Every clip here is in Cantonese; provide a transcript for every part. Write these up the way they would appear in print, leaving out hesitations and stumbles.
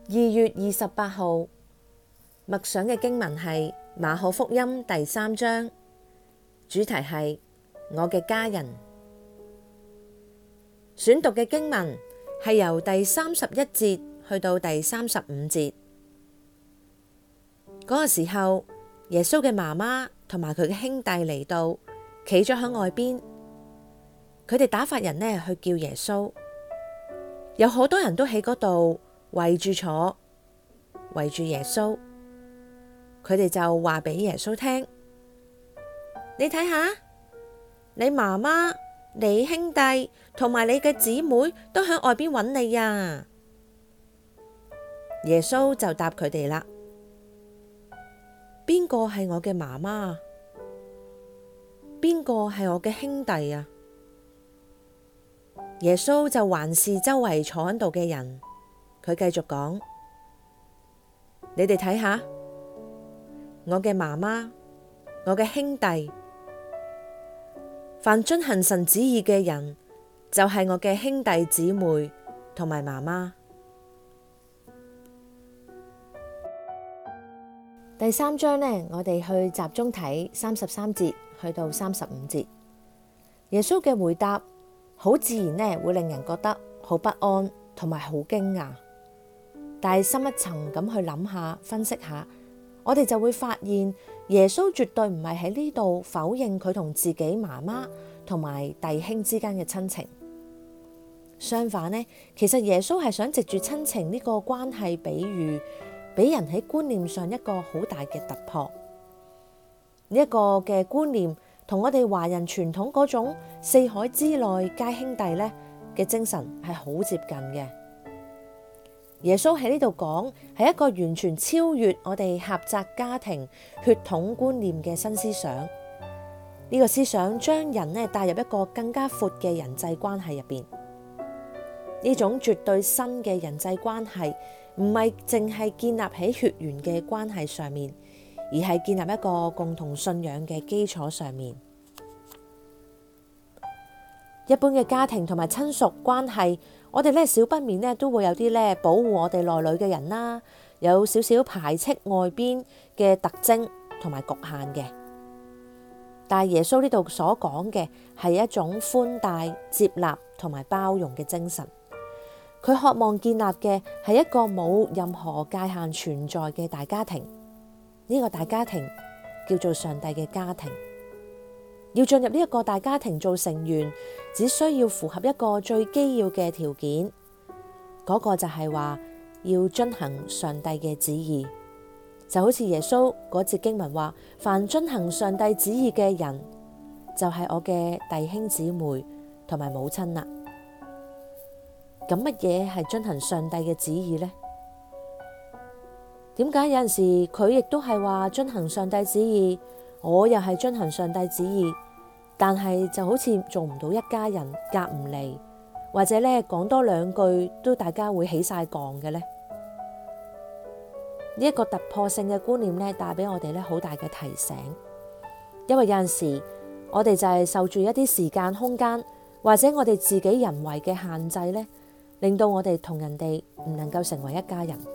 2月28號默想嘅經文係馬可福音第3章，主題係我嘅家人。選讀嘅經文係由第31節去到第35節。嗰個時候，耶穌嘅媽媽同埋佢嘅兄弟嚟到，企咗喺外邊。佢哋打發人去叫耶穌，有好多人都喺嗰度圍住坐，圍住耶穌。佢哋就話俾耶穌聽：你睇下，你媽媽、你兄弟同埋你嘅姊妹都喺外邊揾你呀。耶穌就答佢哋啦：邊個係我嘅媽媽？邊個係我嘅兄弟啊？耶穌就環視周圍坐喺度嘅人，佢繼續講：你哋睇下，我嘅媽媽，我嘅兄弟，凡遵行神旨意嘅人，就係我嘅兄弟姊妹同埋媽媽。第3章我哋去集中睇33節去到35節。耶穌嘅回答好自然會令人覺得好不安同埋好驚訝，但係深一層咁去諗下、分析下，我哋就會發現耶穌絕對唔係喺呢度否認佢同自己媽媽同埋弟兄之間嘅親情。相反其實耶穌係想藉住親情呢個關係比喻，俾人喺觀念上一個好大嘅突破。呢一個嘅觀念同我哋華人傳統嗰種四海之內皆兄弟嘅精神係好接近嘅。耶穌喺呢度講係一個完全超越我哋狹窄家庭血統觀念嘅新思想。呢個思想將人帶入一個更加闊嘅人際關係入邊。呢種絕對新嘅人際關係唔係淨係建立喺血緣嘅關係上面，而係建立一個共同信仰嘅基礎上面。一般嘅家庭同埋親屬關係，我哋少不免都會有啲保護我哋內裏嘅人啦，有少少排斥外邊嘅特徵同埋局限嘅。但係耶穌呢度所講嘅係一種寬大、接納同埋包容嘅精神。佢渴望建立嘅係一個冇任何界限存在嘅大家庭。呢個大家庭叫做上帝嘅家庭。要進入呢一個大家庭做成員，只需要符合一個最基要嘅條件，嗰個就係話要遵行上帝嘅旨意。就好似耶穌嗰節經文話：凡遵行上帝旨意嘅人，就係我嘅弟兄姊妹同埋母親啦。咁乜嘢係遵行上帝嘅旨意呢？點解有陣時佢亦都係話遵行上帝旨意，我又係遵行上帝旨意，但係就好似做唔到一家人，夾唔嚟，或者講多兩句都大家會起晒槓嘅呢？呢一個突破性嘅觀念帶俾我哋好大嘅提醒，因為有陣時我哋就係受住一啲時間空間，或者我哋自己人為嘅限制令到我哋同人哋唔能夠成為一家人。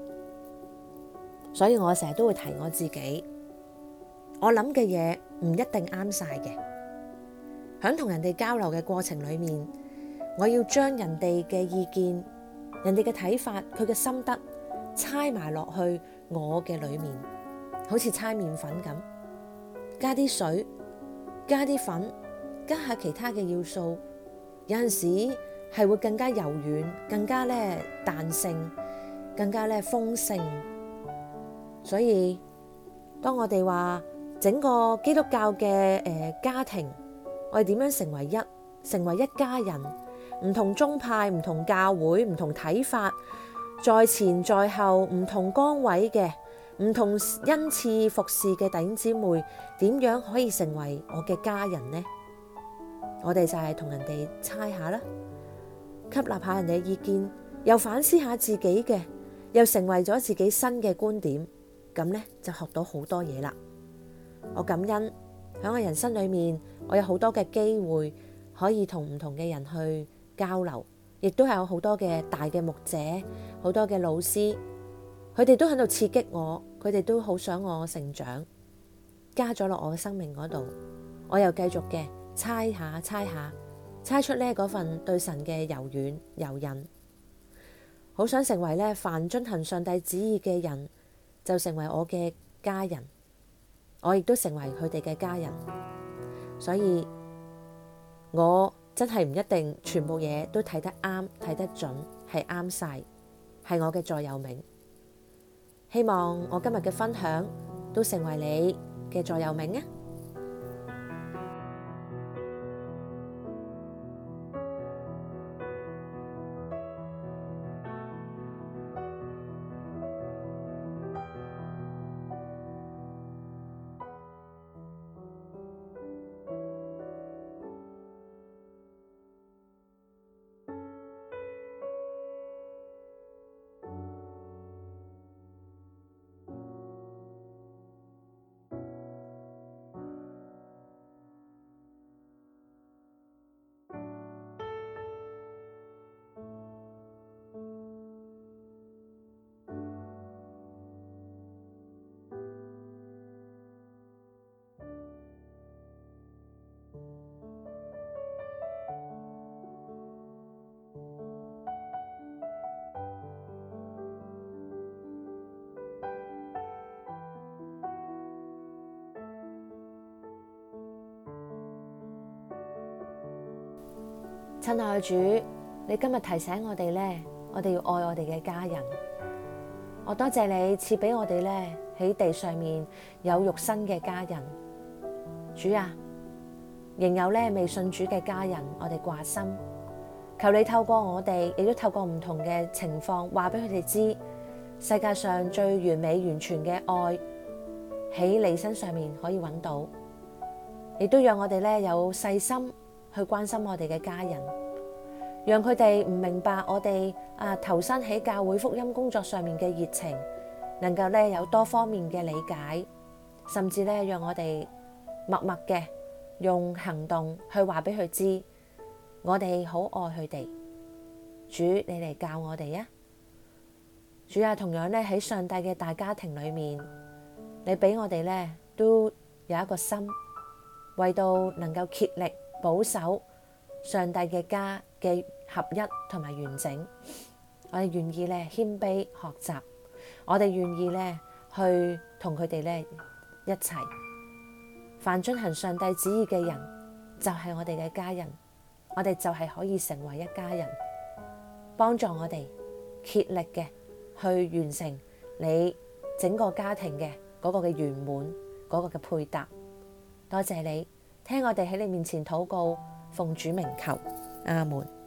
所以我成日都會提我自己，我諗嘅嘢唔一定啱晒嘅。喺同人哋交流嘅過程裏面，我要將人哋嘅意見、人哋嘅睇法、佢嘅心得猜埋落去我嘅裏面，好似猜麵粉咁，加啲水，加啲粉，加下其他嘅要素，有陣時係會更加柔軟，更加彈性，更加豐盛。所以當我哋話整個基督教嘅家庭，我哋點樣成為一家人？唔同宗派、唔同教會、唔同睇法，在前在後唔同崗位嘅、唔同恩賜服侍嘅弟兄姊妹，點樣可以成為我嘅家人呢？我哋就係同人哋猜下啦，吸納下人哋嘅意見，又反思下自己嘅，又成為咗自己新嘅觀點，咁就學到好多嘢啦。我感恩喺我人生裏面，我有好多嘅機會可以同唔同嘅人去交流， 亦都係有好多嘅大嘅牧者，好多嘅老師，佢哋都喺度刺激我，佢哋都好想我成長，加咗落我嘅生命嗰度，我又繼續嘅猜出呢嗰份對神嘅柔軟柔韌，好想成為呢凡遵行上帝旨意嘅人，就成為我嘅家人，我亦都成為佢哋嘅家人，所以我真係唔一定全部嘢都睇得啱睇得準係啱晒，係我嘅座右銘。希望我今日嘅分享都成為你嘅座右銘啊！親愛主，你今日提醒我哋呢，我哋要愛我哋嘅家人。我多謝你賜俾我哋呢喺地上面有肉身嘅家人。主啊，仍有呢未信主嘅家人，我哋掛心。求你透過我哋，亦都透過唔同嘅情況，話俾佢哋知，世界上最完美完全嘅愛喺你身上面可以揾到。亦都讓我哋呢有細心去關心我哋嘅家人，讓佢哋唔明白我哋投身喺教會福音工作上面嘅熱情，能夠呢有多方面嘅理解，甚至呢讓我哋默默嘅用行動去話俾佢知，我哋好愛佢哋。主，你嚟教我哋啊！主啊，同樣呢喺上帝嘅大家庭裏面，你俾我哋呢都有一個心，為到能夠竭力保守上帝嘅家嘅合一同埋完整，我哋願意咧謙卑學習，我哋願意咧去同佢哋咧一齊。凡遵行上帝旨意嘅人，就係我哋嘅家人，我哋就係可以成為一家人，幫助我哋竭力嘅去完成你整個家庭嘅嗰個嘅圓滿，嗰個嘅配搭。多謝你聽我哋喺你面前禱告，奉主名求，阿門。